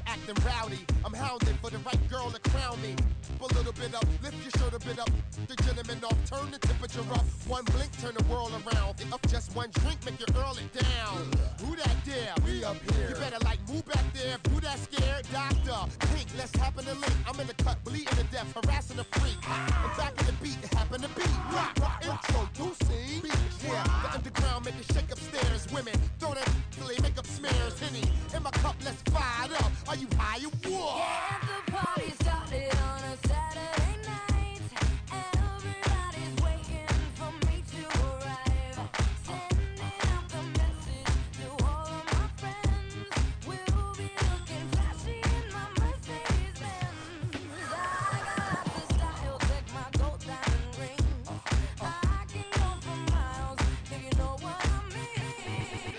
acting rowdy. I'm hounded for the right girl to crown me. A little bit up, lift your shirt a bit up. The gentleman off, turn the temperature up. One blink, turn the world around. Up just one drink, make you earl it down. Who that there? We up here. You better like move back there. Who that scared? Doctor, Pink, let's happen to link. I'm in the cut, bleeding to death, harassing the freak. I'm back in the beat, it happen to be rock, rock, introducing beat. Yeah, the underground make it shake upstairs. Women throw that till they make up smears. Henny in my cup, let's fire it up. Are you high or what? Yeah, the party started on a Saturday night. Everybody's waiting for me to arrive. Sending out the message to all of my friends. We'll be looking flashy in my Mercedes Benz. I got the style, check my gold diamond ring. I can go for miles if you know what I mean.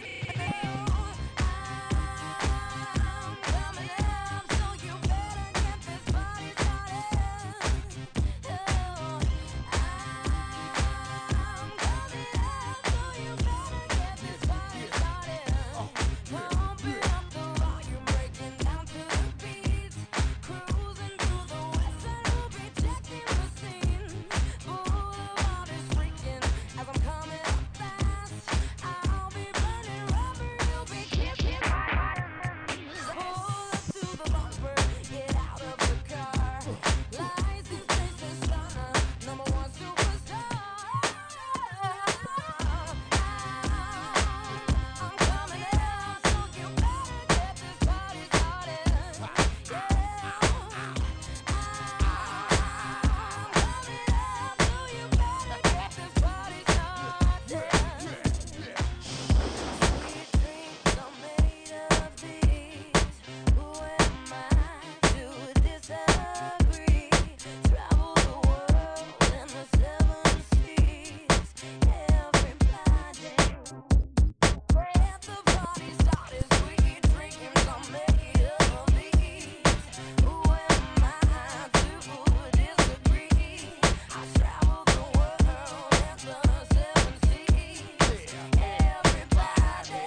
I'm coming up, so you better get this party started. I'm coming up, so you better get this party started. Pumping up the volume, breaking down to the beat. Cruising through the west side, we'll be checking the scene. Boulevard is freaking as I'm coming up fast. I'll be running rubber, you'll be kissing my vitamins. Pull up to the bumper, get out of the car. License plate is stunner, #1 superstar. I'm coming out, so you better get this party started. Yeah, I'm coming out, so you better get this party started. Sweet drinks are made of these. Who am I to disagree? Travel the world in the 7 seas. Everybody, get the party started. Sweet drinks are made of these. Who am I to disagree? I travel the world in the 7 seas. Everybody.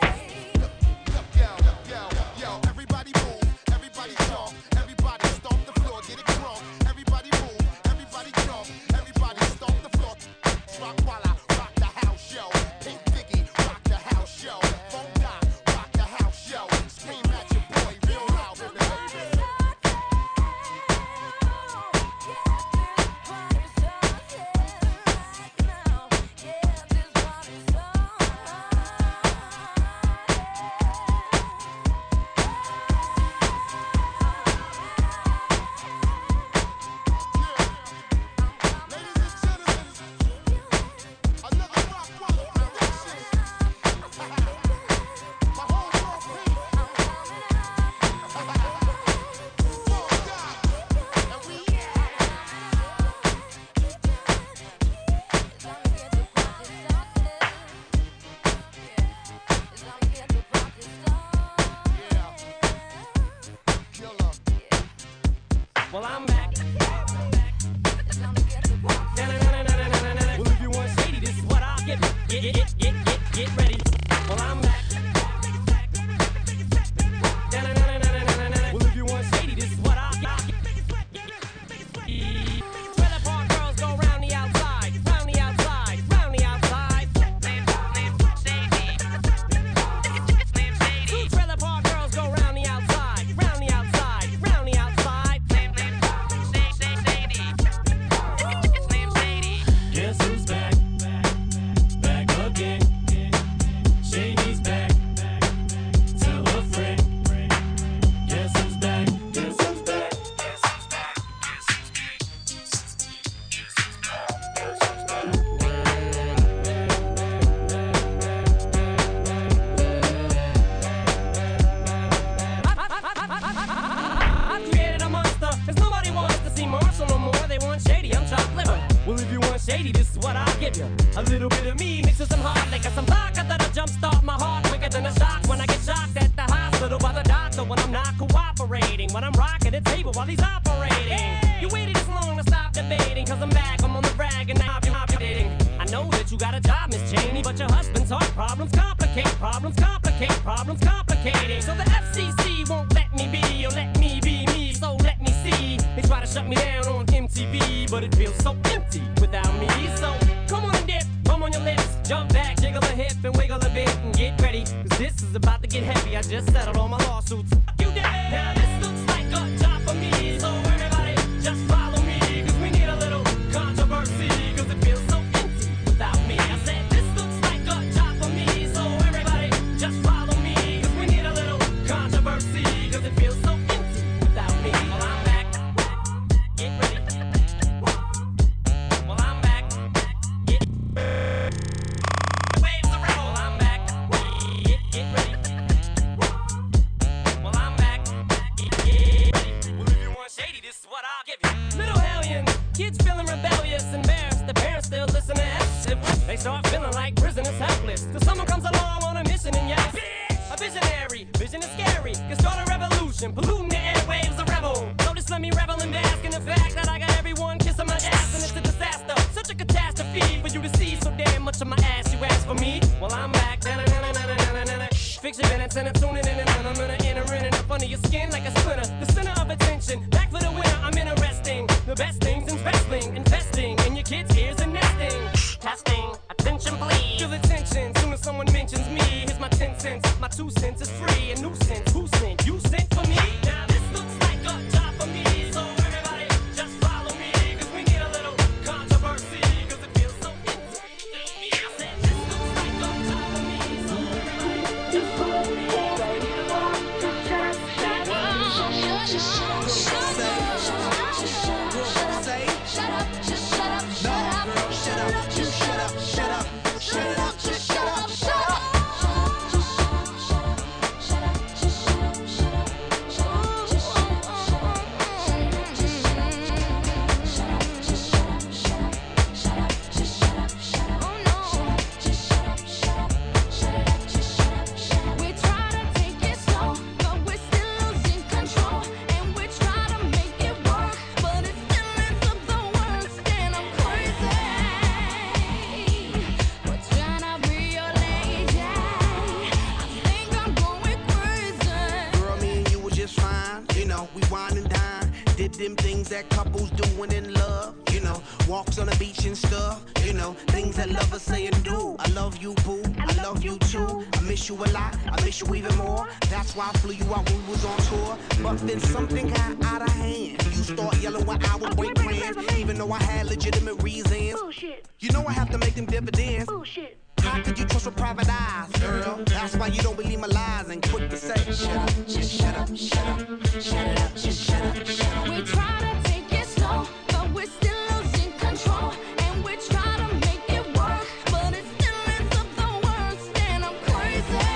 Yo, everybody move, everybody jump, everybody stomp the floor, get it crunk. Everybody move, everybody jump, everybody stomp the floor. Rock while I rock the house, yo. Pink Diggy, rock the house, yo. Funk Doc, rock the house, yo. Scream at your boy, real loud, baby. Ladies and gentlemen, another rock direction. My whole world pink. Funk Doc, and we killer. Well, I'm back. Well, if you want shady, this is what I'll give you. Get ready. Well, I'm back. Well, if you want shady, this is what I'll give you. Trailer park girls go round the outside, round the outside, round the outside. Two trailer park girls go round the outside, round the outside, round the outside. Guess who's back? Back again. Shady's back. Tell a friend. Guess who's back? Guess who's back? Guess who's back? Guess who's back? Guess who's back? I created a monster, 'cause nobody wants to see Marshall no more. They want shady, I'm chopped liver. Well, if you want shady, this is what I'll give you. A little bit of me mixed with some hard liquor, some vodka that'll jumpstart my heart quicker than a shock when I get shocked at the hospital by the doctor when I'm not cooperating. When I'm rocking the table while he's operating. You waited this long to stop debating, 'cause I'm back, I'm on the rag and now I'm dating. I know that you got a job, Miss Cheney, but your husband's heart problems complicate, problems complicate, problems complicating. So the FCC won't let me be be, but it feels so empty without me. So come on and dip, bum on your lips, jump back, jiggle a hip and wiggle a bit and get ready, cause this is about to get heavy. I just settled all my lawsuits. Fuck you, Dad. Now this looks like a job for me, so everybody just follow me, cause we need a little controversy, cause it feels so empty without me. I said this looks like a job for me, so everybody just follow me, cause we need a little controversy, cause it feels so empty without me. Well, I'm back, get ready. Well, I'm back, get waves the rebel. Well, I'm back, get ready. Well, I'm back, get ready. Well, if you want shady, this is what I'll give you. Little hellions, kids feeling rebellious, embarrassed. The parents still listen to us. They start feeling like prisoners helpless, till someone comes along on a mission and yells, a visionary, vision is scary, can start a revolution, polluting the airwaves, a rebel. So just let me revel and bask in the fact that I got everyone kissing my ass, and it's a disaster, such a catastrophe for you to see so damn much of my ass. You ask for me? Well, I'm back. Fix your minutes and I'm tuning in, and I'm gonna enter in and up under your skin like a splinter. The center of attention, back for the winner. I'm interesting. The best things in wrestling, investing in your kids' ears and nesting. Testing, attention please. Feel the tension, soon as someone mentions me. Here's my 10 cents, my 2 cents is free. A nuisance, who sent? You sent for me? Now this looks like a job for me, so everybody just follow me, cause we need a little controversy, cause it feels so empty. I said this looks like a job for me, so everybody just follow me, cause we need a little We try to take it slow, but we're still losing control. And we try to make it work, but it still ends up the worst. And I'm crazy. We're trying to be your lady. I think I'm going crazy. Girl, me and you was just fine. You know, we wine and dine. Did them things that couples do when in love. You know, walks on the beach and stuff. You know, things that lovers say and do. I love you, boo. I love you too. I miss you a lot. I miss you even more. That's why I flew you out when we was on tour. But then something got out of hand. You start yelling when I would break plans, even though I had legitimate reasons. Bullshit, You know I have to make them dividends. bullshit. How could you trust with private eyes, girl? That's why you don't believe my lies and quick to say, shut up, just shut up, shut up, shut it up, just shut up, shut up. We try to take it slow, but we're still losing control. And we try to make it work, but it still ends up the worst. And I'm crazy.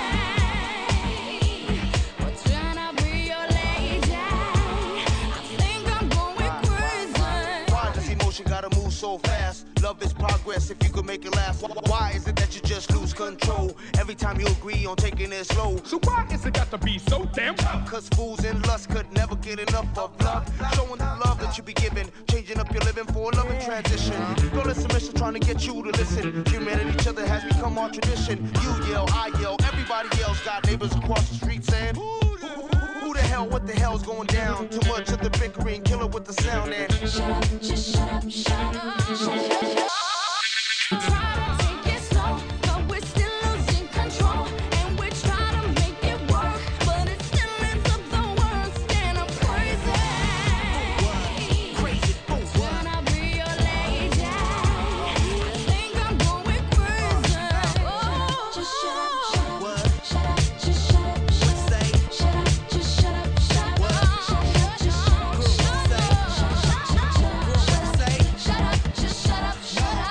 We're trying to be your lady. I think I'm going crazy. Why does emotion gotta move so fast? Love is progress if you could make it last. Why is it that you just lose control every time you agree on taking it slow? So why is it got to be so damn tough? Cause fools in lust could never get enough of love. Showing the love that you be giving, changing up your living for a loving transition. Girl, it's a mission trying to get you to listen. Human at each other has become our tradition. You yell, I yell, everybody yells. Got neighbors across the street saying, who the hell, what the hell's going down? Too much of the bickering, kill it with the sound and Shut up, just shut up, shut up, shut up. Try to take it slow, but we're still losing control. And we try to make it work, but it still ends up the worst. And I'm crazy. crazy. Wanna be your lady. I think I'm going crazy. Oh, just shut up, What? shut up, just shut up, shut up. Say, Shut up, just shut up, shut up. What? Shut up, just shut up, shut up. Shut up, say, shut up, just shut up, shut up.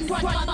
What